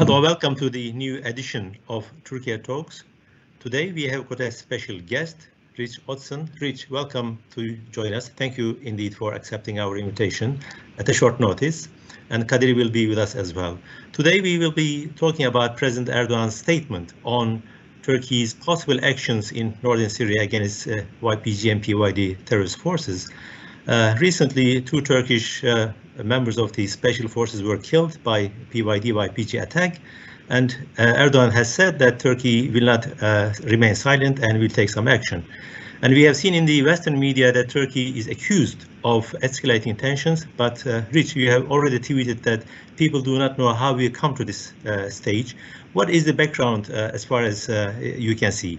Hello, welcome to the new edition of Turkey Talks. Today we have got a special guest, Rich Odson. Rich, welcome to join us. Thank you indeed for accepting our invitation at a short notice. And Kadir will be with us as well. Today we will be talking about President Erdogan's statement on Turkey's possible actions in northern Syria against YPG and PYD terrorist forces. Recently, two Turkish members of the special forces were killed by PYD-YPG attack, and Erdogan has said that Turkey will not remain silent and will take some action. And we have seen in the Western media that Turkey is accused of escalating tensions, but Rich, you have already tweeted that people do not know how we come to this stage. What is the background as far as you can see?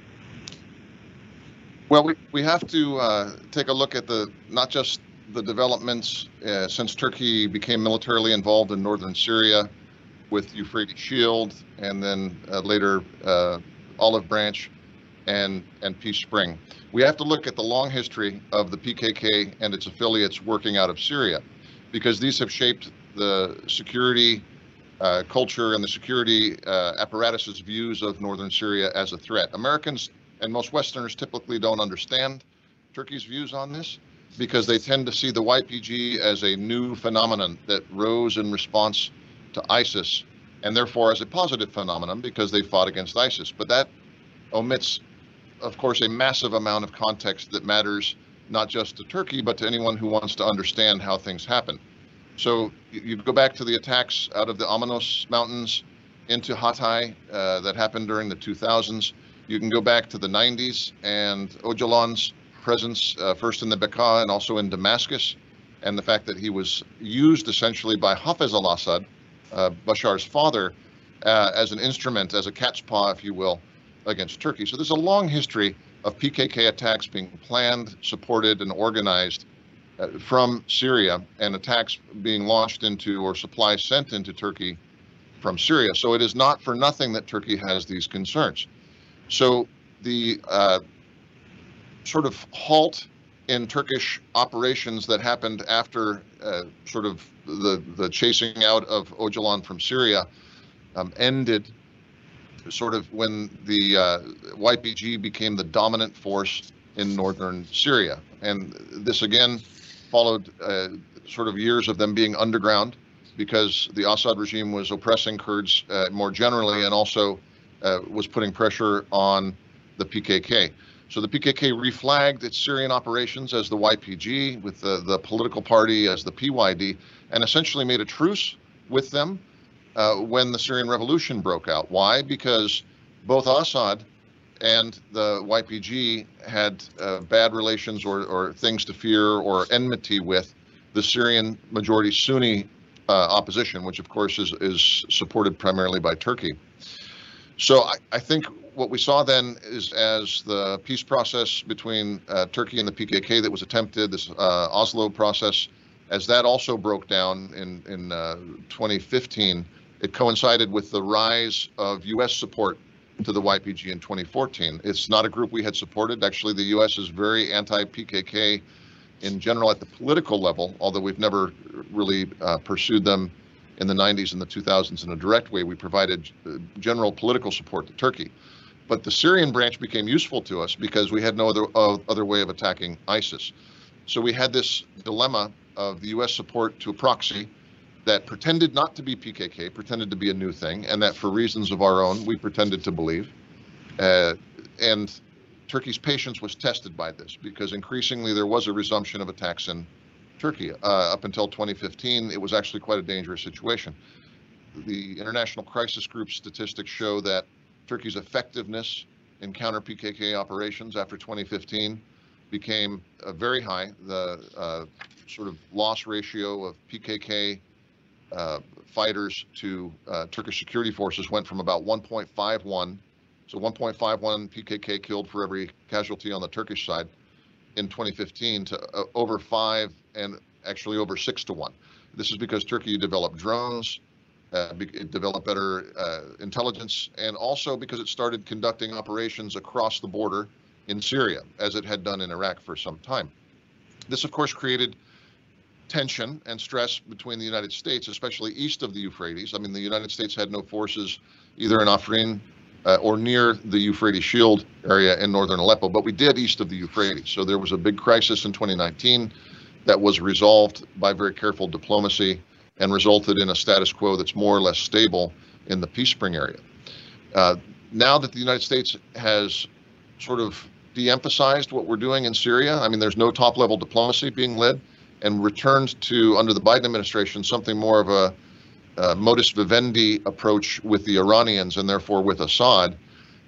Well, we have to take a look at not just the developments since Turkey became militarily involved in northern Syria with Euphrates Shield, and then later Olive Branch and Peace Spring. We have to look at the long history of the PKK and its affiliates working out of Syria, because these have shaped the security culture and the security apparatus's views of northern Syria as a threat. Americans and most Westerners typically don't understand Turkey's views on this, because they tend to see the YPG as a new phenomenon that rose in response to ISIS, and therefore as a positive phenomenon because they fought against ISIS. But that omits, of course, a massive amount of context that matters not just to Turkey, but to anyone who wants to understand how things happen. So you go back to the attacks out of the Amanos Mountains into Hatay that happened during the 2000s. You can go back to the 90s and Öcalan's presence first in the Bekaa and also in Damascus, and the fact that he was used essentially by Hafez al-Assad, Bashar's father, as an instrument, as a cat's paw, if you will, against Turkey. So there's a long history of PKK attacks being planned, supported, and organized from Syria, and attacks being launched into or supplies sent into Turkey from Syria. So it is not for nothing that Turkey has these concerns. So the sort of halt in Turkish operations that happened after sort of the chasing out of Öcalan from Syria ended sort of when the YPG became the dominant force in northern Syria. And this again followed sort of years of them being underground, because the Assad regime was oppressing Kurds more generally, and also was putting pressure on the PKK. So the PKK reflagged its Syrian operations as the YPG, with the political party as the PYD, and essentially made a truce with them when the Syrian revolution broke out. Why? Because both Assad and the YPG had bad relations or things to fear or enmity with the Syrian majority Sunni opposition, which of course is supported primarily by Turkey. So I think what we saw then is, as the peace process between Turkey and the PKK that was attempted, this Oslo process, as that also broke down in 2015, it coincided with the rise of U.S. support to the YPG in 2014. It's not a group we had supported. Actually, the U.S. is very anti-PKK in general at the political level, although we've never really pursued them in the 90s and the 2000s in a direct way. We provided general political support to Turkey. But the Syrian branch became useful to us because we had no other way of attacking ISIS. So we had this dilemma of the U.S. support to a proxy that pretended not to be PKK, pretended to be a new thing, and that for reasons of our own, we pretended to believe. And Turkey's patience was tested by this, because increasingly there was a resumption of attacks in Turkey. Up until 2015, it was actually quite a dangerous situation. The International Crisis Group statistics show that Turkey's effectiveness in counter-PKK operations after 2015 became very high. The sort of loss ratio of PKK fighters to Turkish security forces went from about 1.51, so 1.51 PKK killed for every casualty on the Turkish side in 2015, to over 5 and actually over 6 to 1. This is because Turkey developed drones, it developed better intelligence, and also because it started conducting operations across the border in Syria, as it had done in Iraq for some time. This, of course, created tension and stress between the United States, especially east of the Euphrates. I mean, the United States had no forces either in Afrin or near the Euphrates Shield area in northern Aleppo, but we did east of the Euphrates. So there was a big crisis in 2019 that was resolved by very careful diplomacy and resulted in a status quo that's more or less stable in the Peace Spring area. Now that the United States has sort of de-emphasized what we're doing in Syria, I mean, there's no top-level diplomacy being led, and returned to, under the Biden administration, something more of a modus vivendi approach with the Iranians and therefore with Assad,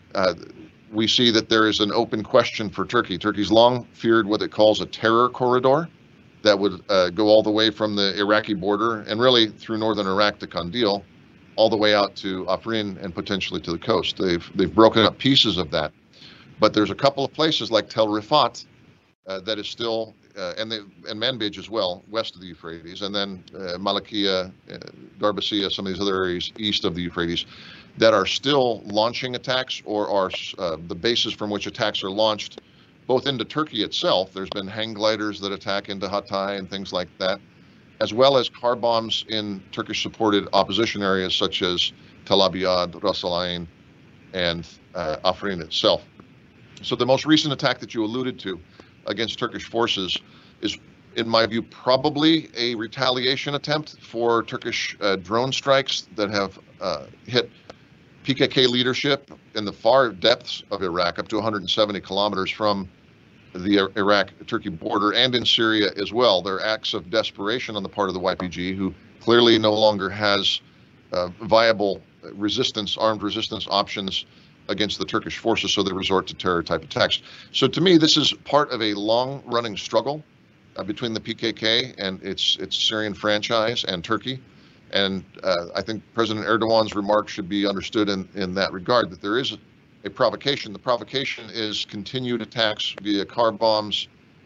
we see that there is an open question for Turkey. Turkey's long feared what it calls a terror corridor that would go all the way from the Iraqi border and really through northern Iraq to Kandil, all the way out to Afrin and potentially to the coast. They've broken up pieces of that, but there's a couple of places like Tel Rifat that is still, and Manbij as well, west of the Euphrates, and then Malakia, Darbasia, some of these other areas east of the Euphrates, that are still launching attacks or are the bases from which attacks are launched, both into Turkey itself. There's been hang gliders that attack into Hatay and things like that, as well as car bombs in Turkish-supported opposition areas such as Tel Abyad, Ras Al Ain, and Afrin itself. So the most recent attack that you alluded to against Turkish forces is, in my view, probably a retaliation attempt for Turkish drone strikes that have hit PKK leadership in the far depths of Iraq, up to 170 kilometers from the Iraq-Turkey border, and in Syria as well. There are acts of desperation on the part of the YPG, who clearly no longer has viable resistance, armed resistance options against the Turkish forces, so they resort to terror-type attacks. So to me, this is part of a long-running struggle between the PKK and its Syrian franchise and Turkey. And I think President Erdogan's remarks should be understood in that regard, that there is a provocation. The provocation is continued attacks via car bombs,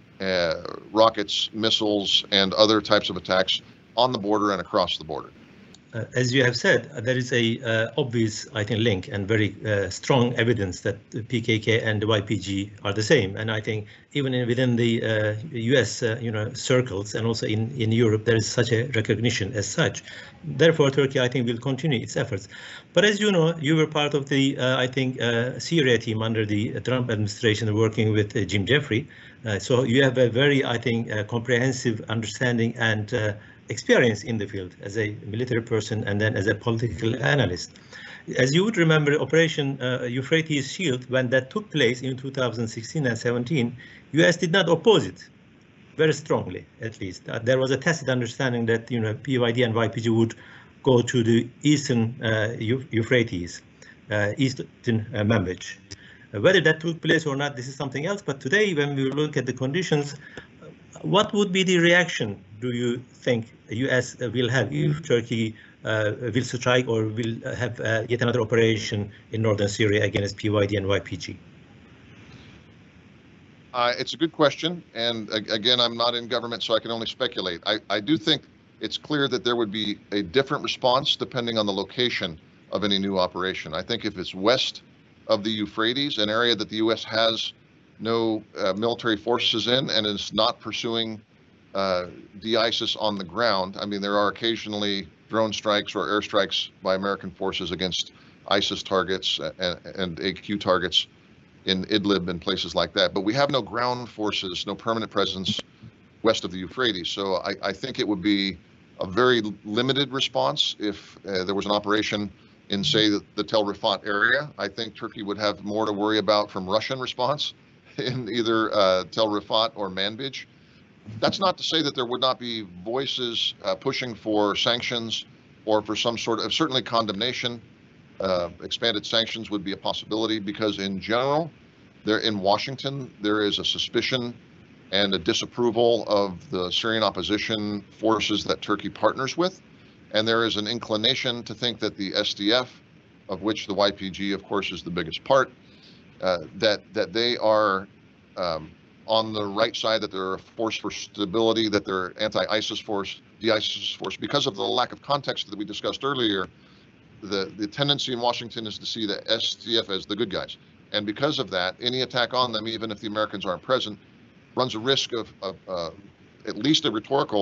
rockets, missiles, and other types of attacks on the border and across the border. As you have said, there is a obvious, I think, link and very strong evidence that the PKK and the YPG are the same. And I think even within the U.S. Circles and also in Europe, there is such a recognition as such. Therefore, Turkey, I think, will continue its efforts. But as you know, you were part of the, I think, Syria team under the Trump administration working with Jim Jeffrey. So you have a very, I think, comprehensive understanding and experience in the field as a military person and then as a political analyst. As you would remember, Operation Euphrates Shield, when that took place in 2016 and 17, US did not oppose it very strongly, at least. There was a tacit understanding that PYD and YPG would go to the eastern Euphrates, eastern Manbij. Whether that took place or not, this is something else. But today, when we look at the conditions, what would be the reaction, do you think, the US will have if Turkey will strike or will have yet another operation in northern Syria against PYD and YPG? It's a good question. And again, I'm not in government, so I can only speculate. I do think it's clear that there would be a different response depending on the location of any new operation. I think if it's west of the Euphrates, an area that the US has no military forces in and is not pursuing the ISIS on the ground. I mean, there are occasionally drone strikes or airstrikes by American forces against ISIS targets and AQ targets in Idlib and places like that. But we have no ground forces, no permanent presence west of the Euphrates. So I think it would be a very limited response if there was an operation in, say, the Tel Rifat area. I think Turkey would have more to worry about from Russian response in either Tel Rifat or Manbij. That's not to say that there would not be voices pushing for sanctions or for some sort of, certainly condemnation. Expanded sanctions would be a possibility because in general, there in Washington, there is a suspicion and a disapproval of the Syrian opposition forces that Turkey partners with. And there is an inclination to think that the SDF, of which the YPG, of course, is the biggest part, that they are on the right side, that they're a force for stability, that they're anti-ISIS force, de-ISIS force. Because of the lack of context that we discussed earlier, the tendency in Washington is to see the SDF as the good guys. And because of that, any attack on them, even if the Americans aren't present, runs a risk of at least a rhetorical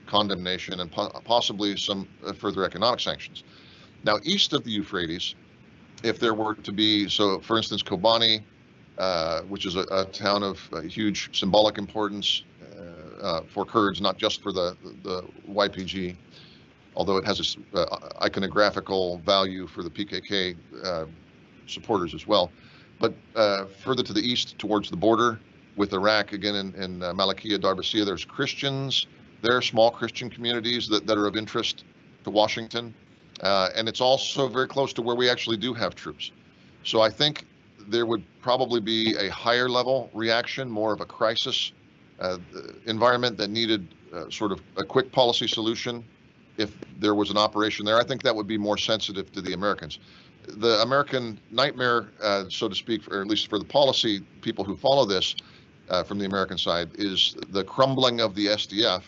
condemnation and possibly some further economic sanctions. Now, east of the Euphrates, if there were to be, so for instance, Kobani, which is a town of huge symbolic importance for Kurds, not just for the YPG, although it has a iconographical value for the PKK supporters as well. But further to the east towards the border with Iraq, again in Malakiya, Darbassia, there's Christians. There are small Christian communities that are of interest to Washington. And it's also very close to where we actually do have troops. So I think there would probably be a higher level reaction, more of a crisis environment that needed sort of a quick policy solution if there was an operation there. I think that would be more sensitive to the Americans. The American nightmare, so to speak, or at least for the policy people who follow this from the American side, is the crumbling of the SDF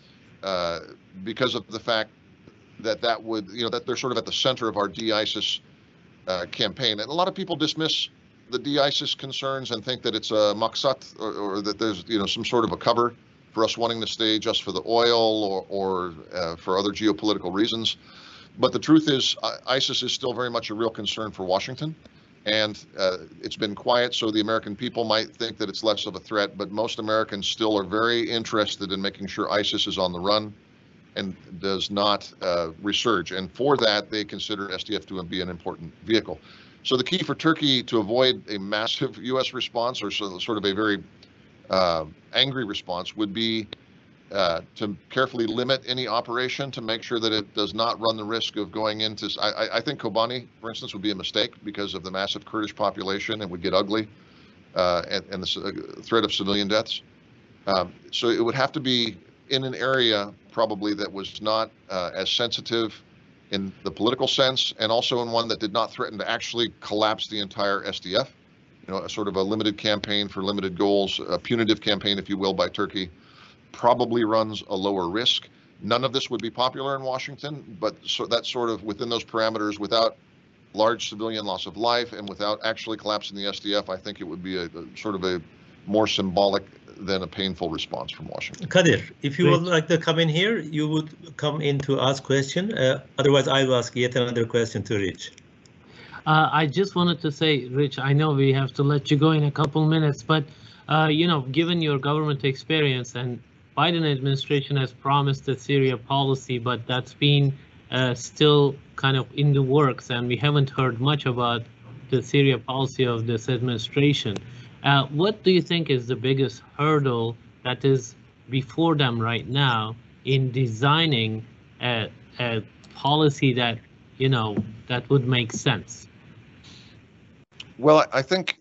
because of the fact that would, that they're sort of at the center of our de-ISIS campaign. And a lot of people dismiss the de-ISIS concerns and think that it's a maksat or that there's, some sort of a cover for us wanting to stay just for the oil or for other geopolitical reasons. But the truth is, ISIS is still very much a real concern for Washington. And it's been quiet, so the American people might think that it's less of a threat, but most Americans still are very interested in making sure ISIS is on the run and does not resurge. And for that, they consider SDF to be an important vehicle. So the key for Turkey to avoid a massive U.S. response or sort of a very angry response would be to carefully limit any operation to make sure that it does not run the risk of going into, I think Kobani, for instance, would be a mistake because of the massive Kurdish population and would get ugly and the threat of civilian deaths. So it would have to be in an area probably that was not as sensitive in the political sense, and also in one that did not threaten to actually collapse the entire SDF. A sort of a limited campaign for limited goals, a punitive campaign, if you will, by Turkey, probably runs a lower risk. None of this would be popular in Washington, but so that's sort of within those parameters, without large civilian loss of life and without actually collapsing the SDF, I think it would be a sort of a more symbolic than a painful response from Washington. Kadir, if you would like to come in here, you would come in to ask question. Otherwise, I will ask yet another question to Rich. I just wanted to say, Rich, I know we have to let you go in a couple minutes, but given your government experience, and Biden administration has promised a Syria policy, but that's been still kind of in the works, and we haven't heard much about the Syria policy of this administration. What do you think is the biggest hurdle that is before them right now in designing a policy that, that would make sense? Well, I think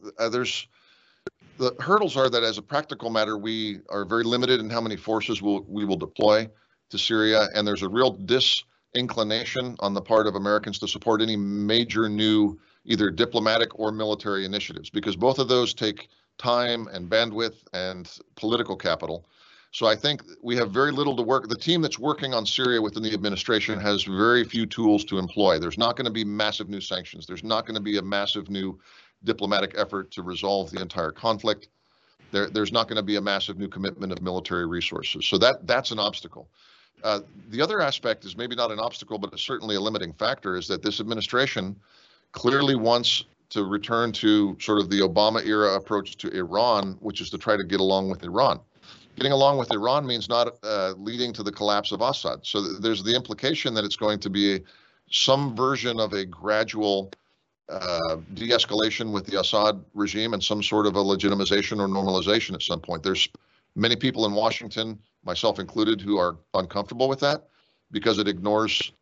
the hurdles are that as a practical matter, we are very limited in how many forces we will deploy to Syria, and there's a real disinclination on the part of Americans to support any major new either diplomatic or military initiatives, because both of those take time and bandwidth and political capital. So I think we have very little to work. The team that's working on Syria within the administration has very few tools to employ. There's not going to be massive new sanctions. There's not going to be a massive new diplomatic effort to resolve the entire conflict. There's not going to be a massive new commitment of military resources. So that's an obstacle. The other aspect is maybe not an obstacle, but it's certainly a limiting factor, is that this administration clearly wants to return to sort of the Obama era approach to Iran, which is to try to get along with Iran. Getting along with Iran means not leading to the collapse of Assad. So there's the implication that it's going to be some version of a gradual de-escalation with the Assad regime and some sort of a legitimization or normalization at some point. There's many people in Washington, myself included, who are uncomfortable with that because it ignores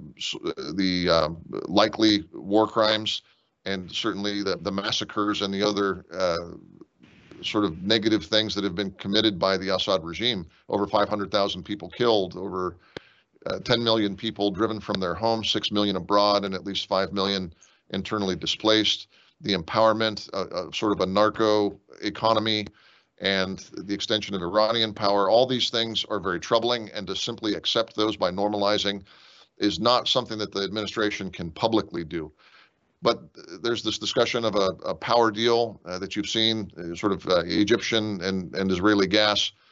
the likely war crimes and certainly the massacres and the other sort of negative things that have been committed by the Assad regime. Over 500,000 people killed, over 10 million people driven from their homes, 6 million abroad, and at least 5 million internally displaced. The empowerment of sort of a narco economy and the extension of Iranian power, all these things are very troubling, and to simply accept those by normalizing is not something that the administration can publicly do. But there's this discussion of a power deal that you've seen, sort of Egyptian and Israeli gas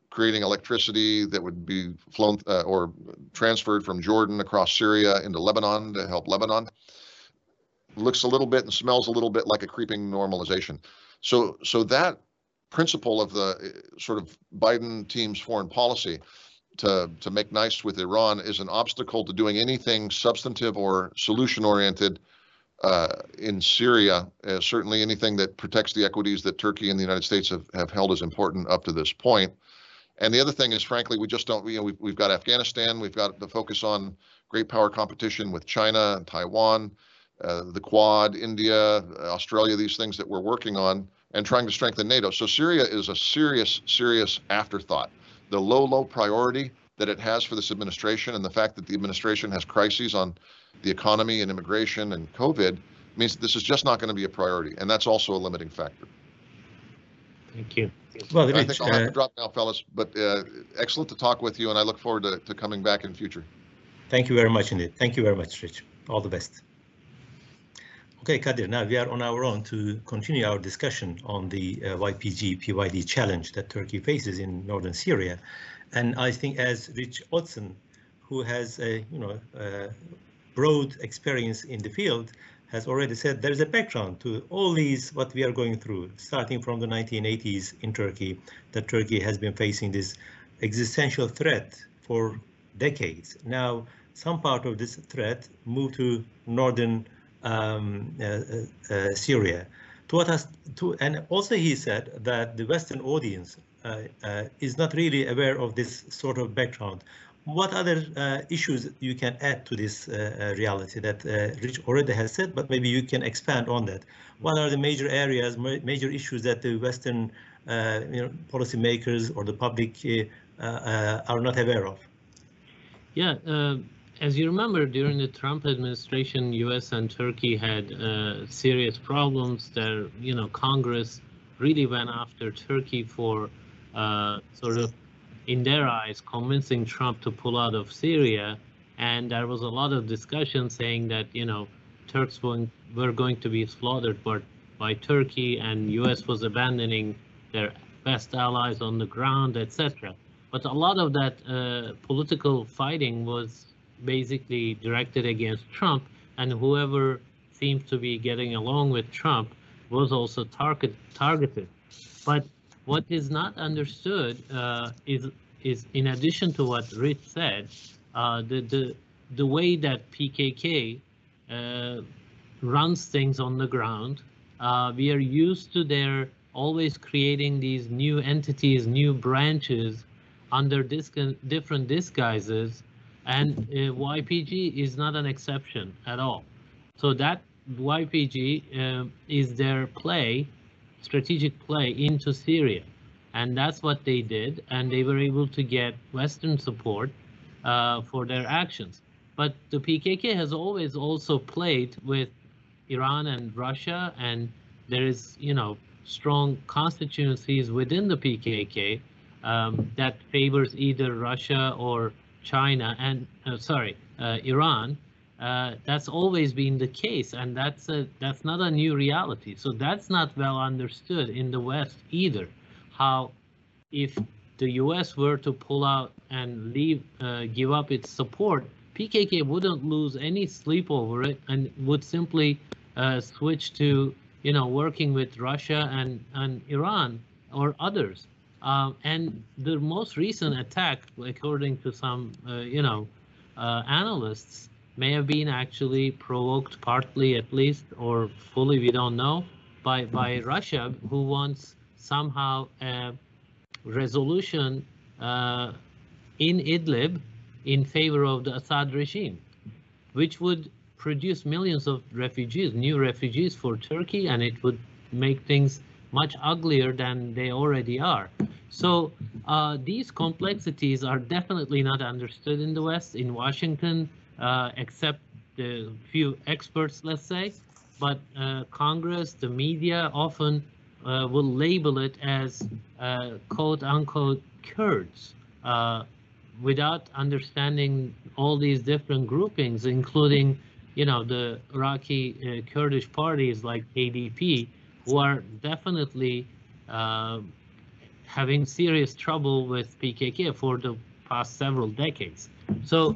creating electricity that would be flown or transferred from Jordan across Syria into Lebanon to help Lebanon. Looks a little bit and smells a little bit like a creeping normalization. So that principle of the sort of Biden team's foreign policy to make nice with Iran is an obstacle to doing anything substantive or solution-oriented in Syria. Certainly anything that protects the equities that Turkey and the United States have held as important up to this point. And the other thing is, frankly, we just don't, we've got Afghanistan, we've got the focus on great power competition with China and Taiwan, the Quad, India, Australia, these things that we're working on and trying to strengthen NATO. So Syria is a serious, serious afterthought. The low priority that it has for this administration and the fact that the administration has crises on the economy and immigration and COVID means that this is just not going to be a priority. And that's also a limiting factor. Thank you. Well, I think I'll have to drop now, fellas, but excellent to talk with you, and I look forward to coming back in future. Thank you very much indeed. Thank you very much, Rich. All the best. Okay, Kadir, now we are on our own to continue our discussion on the YPG-PYD challenge that Turkey faces in northern Syria. And I think as Rich Odson, who has a broad experience in the field, has already said, there's a background to all these, what we are going through, starting from the 1980s in Turkey, that Turkey has been facing this existential threat for decades. Now, some part of this threat moved to northern Syria. And also he said that the Western audience is not really aware of this sort of background. What other issues you can add to this reality that Rich already has said, but maybe you can expand on that? What are the major areas, major issues that the Western policymakers or the public are not aware of? Yeah, as you remember, during the Trump administration, U.S. and Turkey had serious problems. There, Congress really went after Turkey for sort of, in their eyes, convincing Trump to pull out of Syria. And there was a lot of discussion saying that, Turks were going to be slaughtered by Turkey, and U.S. was abandoning their best allies on the ground, etc. But a lot of that political fighting was basically directed against Trump, and whoever seemed to be getting along with Trump was also targeted. But what is not understood is in addition to what Rich said, the way that PKK runs things on the ground. We are used to their always creating these new entities, new branches under different disguises, and YPG is not an exception at all. So that YPG is their strategic play into Syria, and that's what they did, and they were able to get Western support for their actions. But the PKK has always also played with Iran and Russia, and there is, strong constituencies within the PKK that favors either Russia or China and Iran. That's always been the case, and that's not a new reality. So that's not well understood in the West either. How if the U.S. were to pull out and give up its support, PKK wouldn't lose any sleep over it and would simply switch to working with Russia and Iran or others. And the most recent attack, according to some analysts, may have been actually provoked partly, at least, or fully, we don't know, by Russia, who wants somehow a resolution in Idlib in favor of the Assad regime, which would produce millions of refugees, new refugees for Turkey, and it would make things much uglier than they already are. So these complexities are definitely not understood in the West, in Washington, except the few experts, let's say. But Congress, the media often will label it as quote-unquote Kurds, without understanding all these different groupings, including the Iraqi Kurdish parties like KDP, who are definitely having serious trouble with PKK for the past several decades. So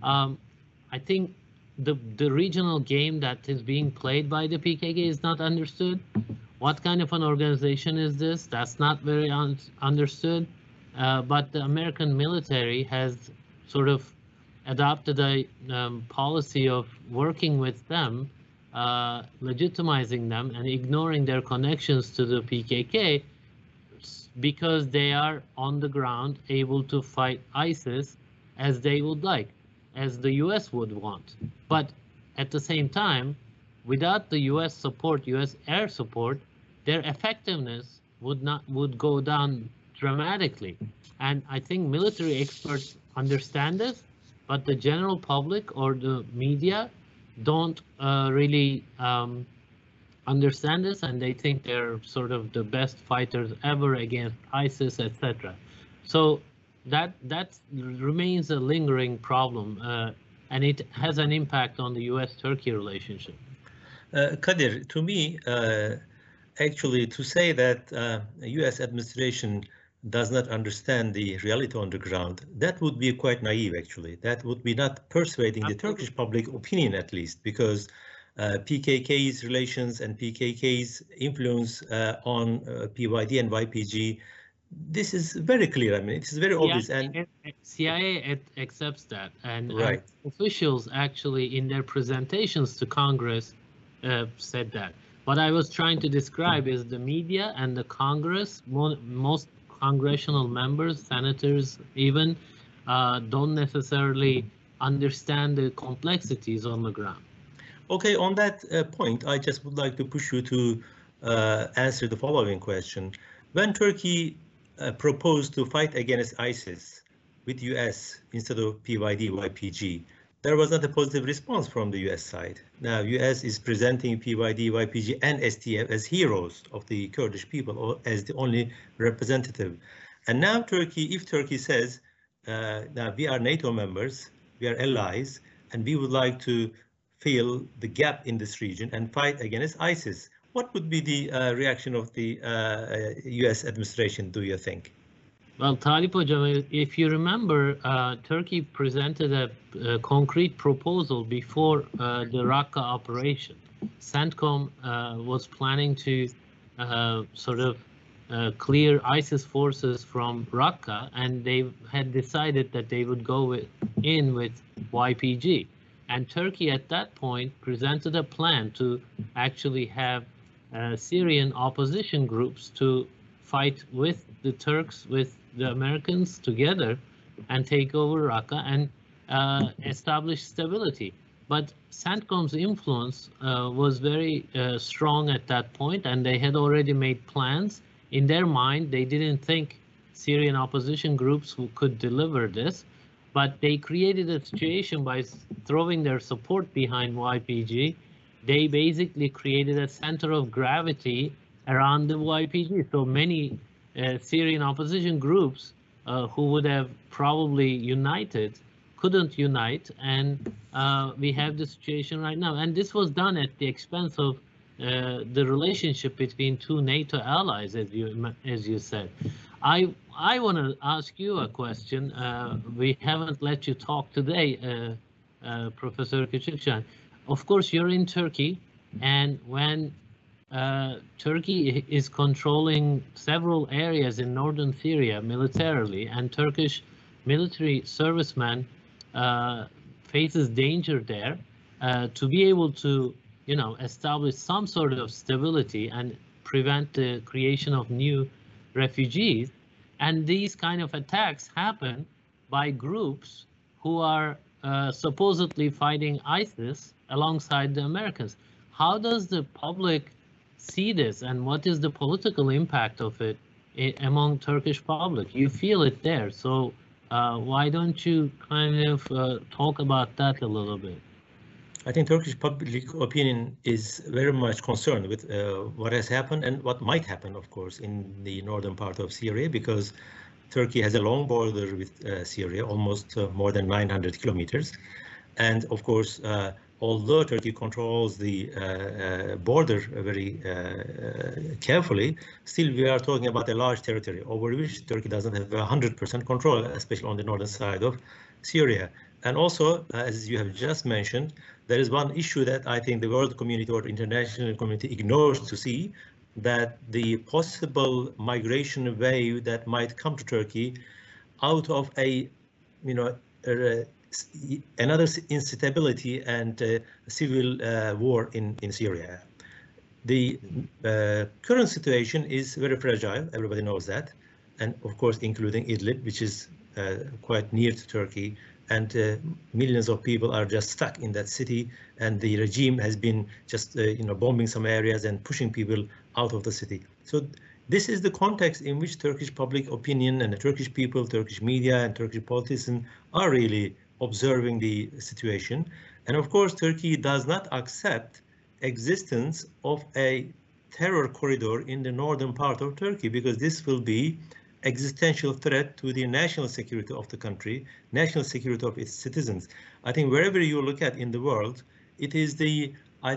I think the regional game that is being played by the PKK is not understood. What kind of an organization is this? That's not very understood. But the American military has sort of adopted a policy of working with them, legitimizing them and ignoring their connections to the PKK because they are on the ground able to fight ISIS as they would like, as the US would want. But at the same time, without the US support, US air support, their effectiveness would go down dramatically. And I think military experts understand this, but the general public or the media don't really understand this, and they think they're sort of the best fighters ever against ISIS, etc. So that remains a lingering problem, and it has an impact on the US-Turkey relationship. Kadir, to me, actually, to say that US administration does not understand the reality on the ground, that would be quite naive, actually. That would be not persuading the Turkish public opinion, at least, because PKK's relations and PKK's influence on PYD and YPG, this is very clear. I mean, it is very obvious. And CIA accepts that, and, right. And officials actually in their presentations to Congress said that. What I was trying to describe is the media and the Congress, most congressional members, senators even, don't necessarily understand the complexities on the ground. Okay, on that point, I just would like to push you to answer the following question. When Turkey proposed to fight against ISIS with US instead of PYD, YPG, there was not a positive response from the US side. Now, US is presenting PYD, YPG, and STF as heroes of the Kurdish people, or as the only representative. And now Turkey, if Turkey says, now we are NATO members, we are allies, and we would like to fill the gap in this region and fight against ISIS, what would be the reaction of the US administration, do you think? Well, Talip Hocam, if you remember, Turkey presented a concrete proposal before the Raqqa operation. CENTCOM was planning to sort of clear ISIS forces from Raqqa, and they had decided that they would go in with YPG. And Turkey at that point presented a plan to actually have Syrian opposition groups to fight with the Turks, with the Americans together, and take over Raqqa and establish stability. But CENTCOM's influence was very strong at that point, and they had already made plans. In their mind, they didn't think Syrian opposition groups could deliver this, but they created a situation by throwing their support behind YPG. They basically created a center of gravity around the YPG. So many Syrian opposition groups who would have probably united couldn't unite, and we have the situation right now. And this was done at the expense of the relationship between two NATO allies, as you said. I want to ask you a question. We haven't let you talk today, Professor Küçükcan. Of course, you're in Turkey, and when Turkey is controlling several areas in northern Syria militarily, and Turkish military servicemen faces danger there, to be able to, establish some sort of stability and prevent the creation of new refugees. And these kind of attacks happen by groups who are supposedly fighting ISIS alongside the Americans. How does the public see this, and what is the political impact of it among Turkish public? You feel it there, so why don't you kind of talk about that a little bit? I think Turkish public opinion is very much concerned with what has happened and what might happen, of course, in the northern part of Syria, because Turkey has a long border with Syria, almost more than 900 kilometers. And of course, although Turkey controls the border very carefully, still we are talking about a large territory over which Turkey doesn't have 100% control, especially on the northern side of Syria. And also, as you have just mentioned, there is one issue that I think the world community or international community ignores to see, that the possible migration wave that might come to Turkey out of a, another instability and civil war in Syria. The current situation is very fragile, everybody knows that, and of course including Idlib, which is quite near to Turkey, and millions of people are just stuck in that city, and the regime has been just bombing some areas and pushing people out of the city. So this is the context in which Turkish public opinion and the Turkish people, Turkish media and Turkish politicians are really observing the situation. And of course, Turkey does not accept existence of a terror corridor in the northern part of Turkey, because this will be existential threat to the national security of the country, national security of its citizens. I think wherever you look at in the world, it is the,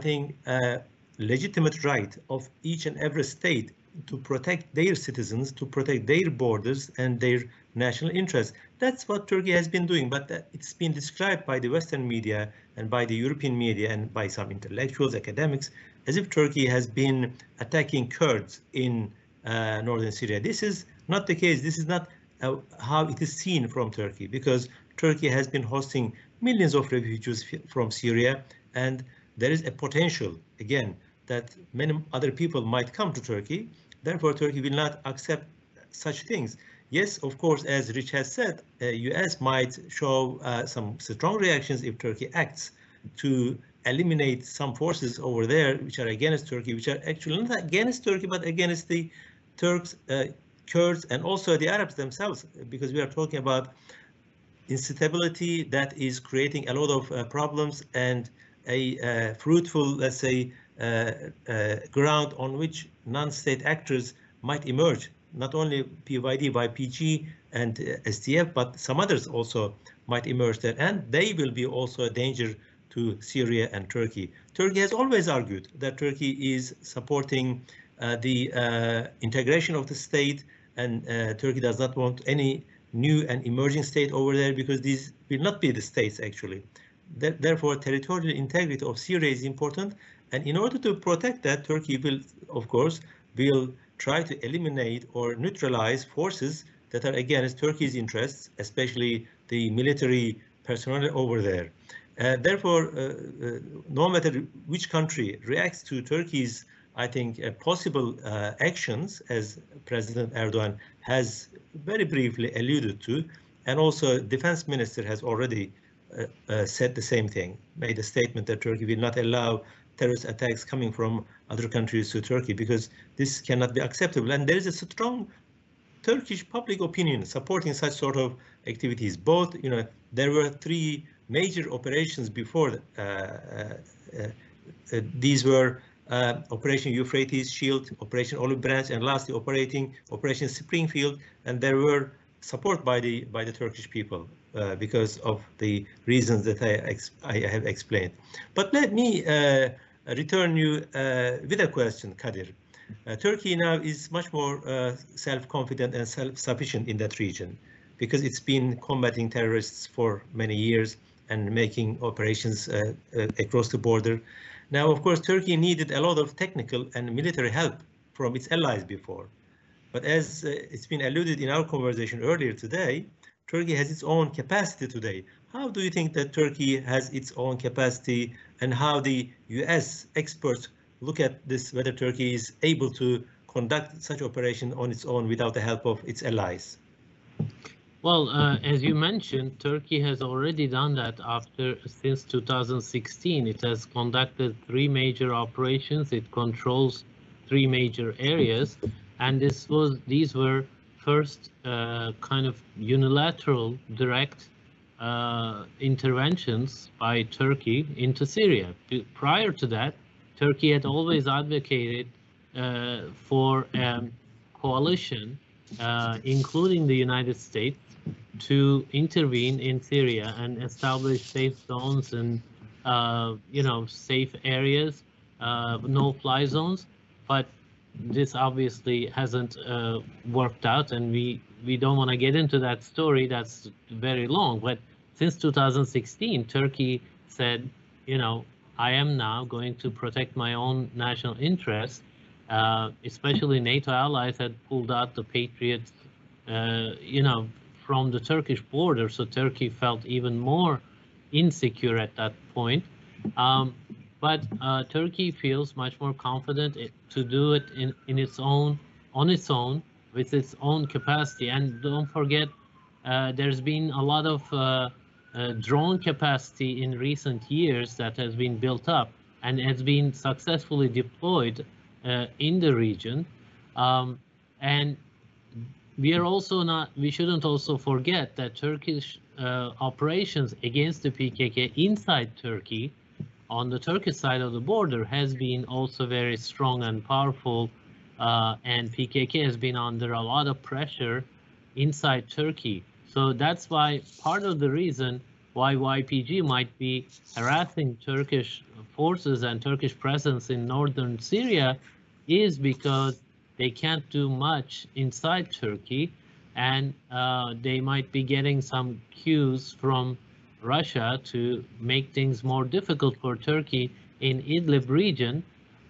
legitimate right of each and every state to protect their citizens, to protect their borders and their national interests. That's what Turkey has been doing, but it's been described by the Western media and by the European media and by some intellectuals, academics, as if Turkey has been attacking Kurds in northern Syria. This is not the case. This is not how it is seen from Turkey, because Turkey has been hosting millions of refugees from Syria, and there is a potential, again, that many other people might come to Turkey. Therefore, Turkey will not accept such things. Yes, of course, as Rich has said, US might show some strong reactions if Turkey acts to eliminate some forces over there which are against Turkey, which are actually not against Turkey, but against the Turks, Kurds, and also the Arabs themselves, because we are talking about instability that is creating a lot of problems and a fruitful, let's say, ground on which non-state actors might emerge. Not only PYD, YPG, and SDF, but some others also might emerge there, and they will be also a danger to Syria and Turkey. Turkey has always argued that Turkey is supporting the integration of the state, and Turkey does not want any new and emerging state over there, because these will not be the states actually. Therefore, territorial integrity of Syria is important, and in order to protect that, Turkey will, of course, try to eliminate or neutralize forces that are against Turkey's interests, especially the military personnel over there. Therefore, no matter which country reacts to Turkey's, I think, possible actions, as President Erdogan has very briefly alluded to, and also Defense Minister has already said the same thing, made a statement that Turkey will not allow terrorist attacks coming from other countries to Turkey, because this cannot be acceptable. And there is a strong Turkish public opinion supporting such sort of activities. Both, there were 3 major operations before. These were Operation Euphrates Shield, Operation Olive Branch, and lastly Operation Springfield, and there were support by the Turkish people because of the reasons that I have explained. But let me return you with a question, Kadir. Turkey now is much more self-confident and self-sufficient in that region, because it's been combating terrorists for many years and making operations across the border. Now, of course, Turkey needed a lot of technical and military help from its allies before. But as it's been alluded in our conversation earlier today, Turkey has its own capacity today. How do you think that Turkey has its own capacity, and how the US experts look at this, whether Turkey is able to conduct such operation on its own without the help of its allies? Well, as you mentioned, Turkey has already done that since 2016. It has conducted 3 major operations. It controls 3 major areas, and these were first kind of unilateral, direct interventions by Turkey into Syria. Prior to that, Turkey had always advocated for a coalition, including the United States, to intervene in Syria and establish safe zones and safe areas, no-fly zones, but this obviously hasn't worked out, and we don't want to get into that story. That's very long. But since 2016, Turkey said, I am now going to protect my own national interests. Especially NATO allies had pulled out the Patriots, from the Turkish border, so Turkey felt even more insecure at that point. But Turkey feels much more confident to do it on its own, with its own capacity. And don't forget, there's been a lot of drone capacity in recent years that has been built up and has been successfully deployed in the region. And we shouldn't also forget that Turkish operations against the PKK inside Turkey, on the Turkish side of the border, has been also very strong and powerful, and PKK has been under a lot of pressure inside Turkey. So that's why part of the reason why YPG might be harassing Turkish forces and Turkish presence in northern Syria is because they can't do much inside Turkey, and they might be getting some cues from Russia to make things more difficult for Turkey in Idlib region.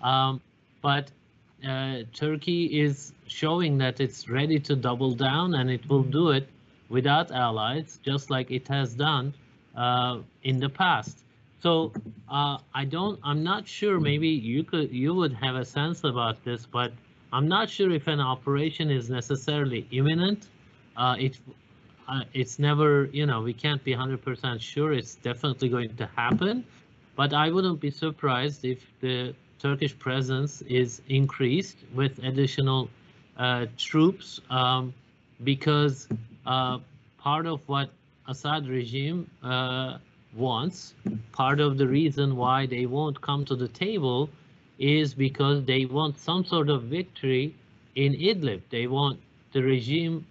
But Turkey is showing that it's ready to double down, and it will do it without allies, just like it has done in the past. So I'm not sure. Maybe you would have a sense about this, but I'm not sure if an operation is necessarily imminent. It's never, we can't be 100% sure it's definitely going to happen, but I wouldn't be surprised if the Turkish presence is increased with additional troops, because part of what Assad regime wants, part of the reason why they won't come to the table is because they want some sort of victory in Idlib. They want the regime,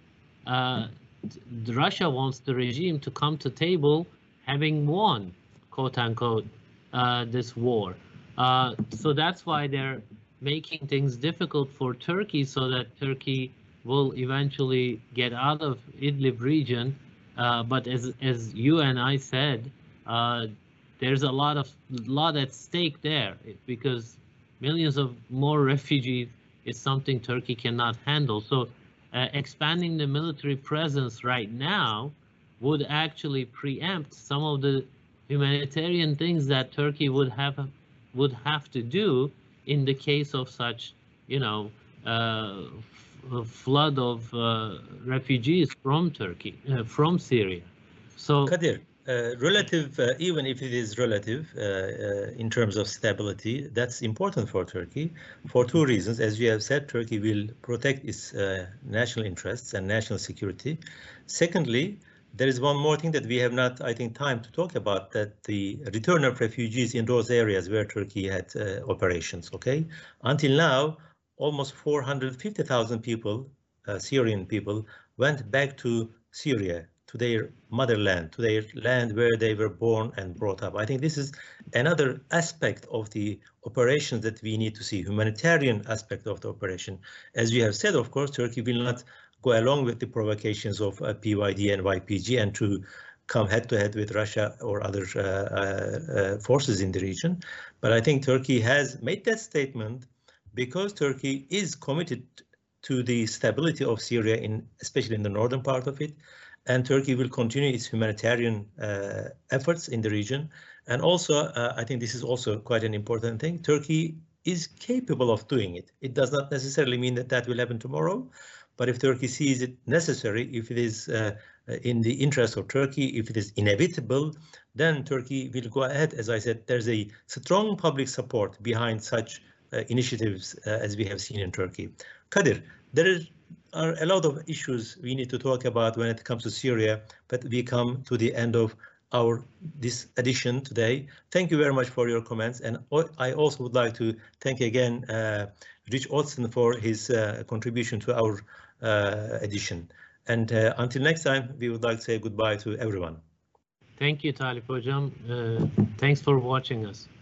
Russia wants the regime to come to table having won, quote unquote, this war. So that's why they're making things difficult for Turkey, so that Turkey will eventually get out of Idlib region. But as you and I said, there's a lot at stake there, because millions of more refugees is something Turkey cannot handle. So expanding the military presence right now would actually preempt some of the humanitarian things that Turkey would have to do in the case of such, flood of refugees from Turkey, from Syria. So Kadir, relative, even if it is relative in terms of stability, that's important for Turkey for two reasons. As you have said, Turkey will protect its national interests and national security. Secondly, there is one more thing that we have not, I think, time to talk about, that the return of refugees in those areas where Turkey had operations, okay? Until now, almost 450,000 people, Syrian people, went back to Syria, to their motherland, to their land where they were born and brought up. I think this is another aspect of the operations that we need to see, humanitarian aspect of the operation. As we have said, of course, Turkey will not go along with the provocations of PYD and YPG and to come head-to-head with Russia or other forces in the region. But I think Turkey has made that statement because Turkey is committed to the stability of Syria, especially in the northern part of it, and Turkey will continue its humanitarian efforts in the region. And also, I think this is also quite an important thing, Turkey is capable of doing it. It does not necessarily mean that that will happen tomorrow, but if Turkey sees it necessary, if it is in the interest of Turkey, if it is inevitable, then Turkey will go ahead. As I said, there's a strong public support behind such initiatives as we have seen in Turkey. Kadir, there are a lot of issues we need to talk about when it comes to Syria, but we come to the end of this edition today. Thank you very much for your comments, and I also would like to thank again Rich Otson for his contribution to our edition. And until next time, we would like to say goodbye to everyone. Thank you, Talip Hocam. Thanks for watching us.